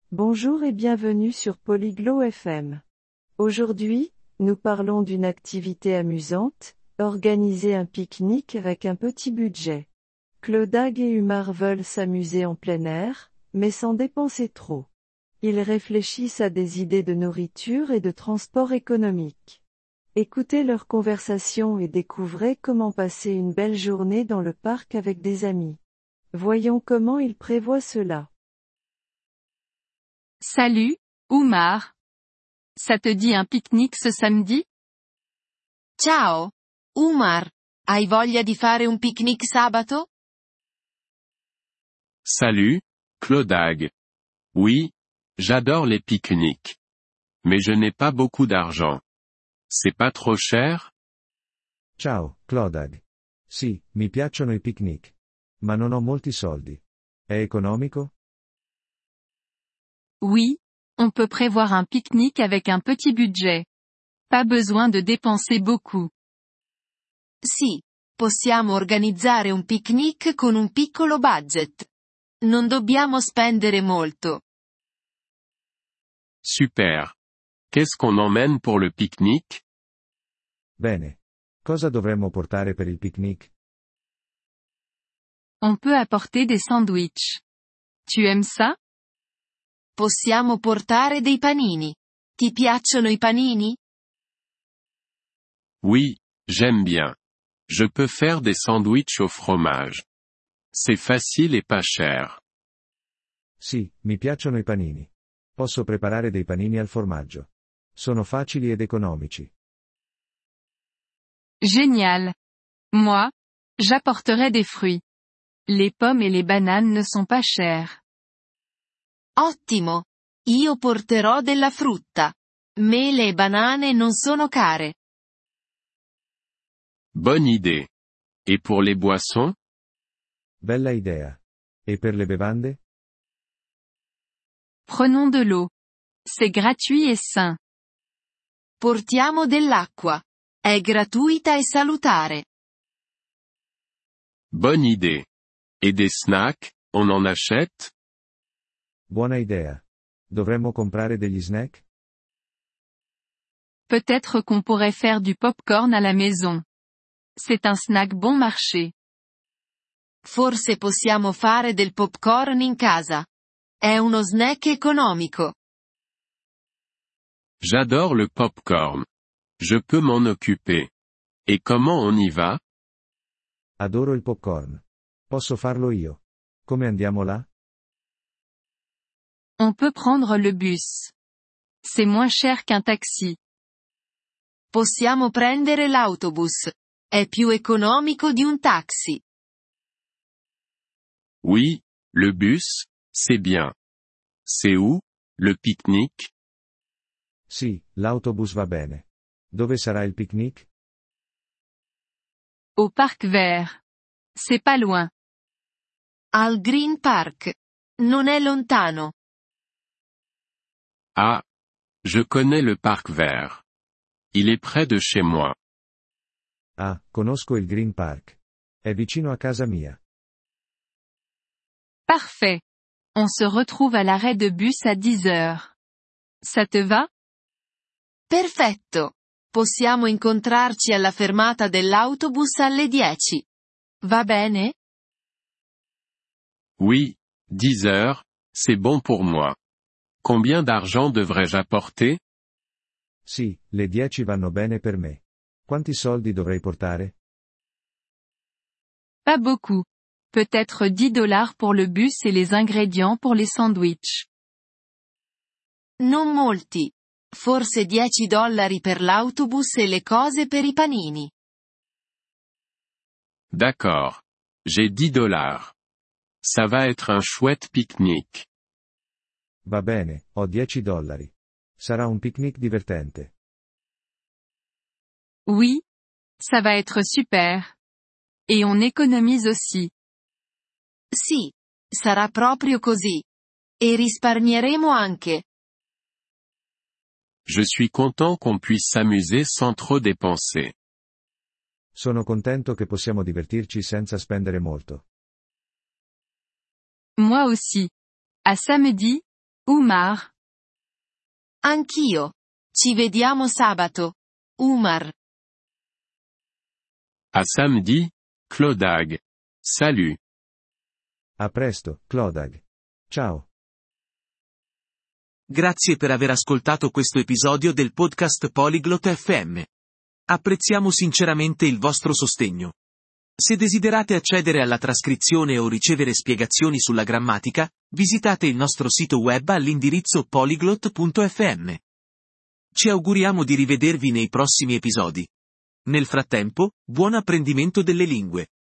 Bonjour et bienvenue sur Polyglot FM. Aujourd'hui, nous parlons d'une activité amusante, organiser un pique-nique avec un petit budget. Clodag et Umar veulent s'amuser en plein air, mais sans dépenser trop. Ils réfléchissent à des idées de nourriture et de transport économique. Écoutez leur conversation et découvrez comment passer une belle journée dans le parc avec des amis. Voyons comment ils prévoient cela. Salut, Umar. Ça te dit un pique-nique ce samedi? Ciao, Umar. Hai voglia di fare un picnic sabato? Salut, Clodag. Oui, j'adore les pique-niques. Mais je n'ai pas beaucoup d'argent. C'est pas trop cher? Ciao, Clodag. Sì, mi piacciono i picnic. Ma non ho molti soldi. È economico? Oui, on peut prévoir un pique-nique avec un petit budget. Pas besoin de dépenser beaucoup. Sì, possiamo organizzare un picnic con un piccolo budget. Non dobbiamo spendere molto. Super. Qu'est-ce qu'on emmène pour le pique-nique? Bene. Cosa dovremmo portare per il picnic? On peut apporter des sandwichs. Tu aimes ça? Possiamo portare dei panini. Ti piacciono i panini? Oui, j'aime bien. Je peux faire des sandwichs au fromage. C'est facile et pas cher. Sì, mi piacciono i panini. Posso preparare dei panini al formaggio. Sono facili ed economici. Génial. Moi, j'apporterai des fruits. Les pommes et les bananes ne sont pas chères. Ottimo. Io porterò della frutta. Mele e banane non sono care. Bonne idée. Et pour les boissons? Bella idea. E per le bevande? Prenons de l'eau. C'est gratuit et sain. Portiamo dell'acqua. È gratuita e salutare. Bonne idée. Et des snacks, on en achète? Buona idea. Dovremmo comprare degli snack? Peut-être qu'on pourrait faire du popcorn à la maison. C'est un snack bon marché. Forse possiamo fare del popcorn in casa. È uno snack economico. J'adore le popcorn. Je peux m'en occuper. Et comment on y va? Adoro il popcorn. Posso farlo io. Come andiamo là? On peut prendre le bus. C'est moins cher qu'un taxi. Possiamo prendere l'autobus. È più economico di un taxi. Oui, le bus, c'est bien. C'est où, le pique-nique? Sì, l'autobus va bene. Dove sarà il picnic? Au parc vert. C'est pas loin. Al Green Park. Non è lontano. Ah. Je connais le parc vert. Il est près de chez moi. Ah, conosco il Green Park. È vicino a casa mia. Parfait. On se retrouve à l'arrêt de bus à 10 heures. Ça te va? Perfetto. Possiamo incontrarci alla fermata dell'autobus alle 10. Va bene? Oui, 10 heures, c'est bon pour moi. Combien d'argent devrais-je apporter? Sì, le 10 vanno bene per me. Quanti soldi dovrei portare? Pas beaucoup. Peut-être 10 dollars pour le bus et les ingrédients pour les sandwichs. Non molti. Forse 10 dollari per l'autobus e le cose per i panini. D'accord. J'ai 10 dollars. Ça va être un chouette pique-nique. Va bene, ho 10 dollari. Sarà un picnic divertente. Oui. Ça va être super. Et on économise aussi. Sì. Sarà proprio così. E risparmieremo anche. Je suis content qu'on puisse s'amuser sans trop dépenser. Sono contento che possiamo divertirci senza spendere molto. Moi aussi. À samedi, Umar. Anch'io. Ci vediamo sabato. Umar. À samedi, Clodag. Salut. A presto, Clodag. Ciao. Grazie per aver ascoltato questo episodio del podcast Polyglot FM. Apprezziamo sinceramente il vostro sostegno. Se desiderate accedere alla trascrizione o ricevere spiegazioni sulla grammatica, visitate il nostro sito web all'indirizzo polyglot.fm. Ci auguriamo di rivedervi nei prossimi episodi. Nel frattempo, buon apprendimento delle lingue.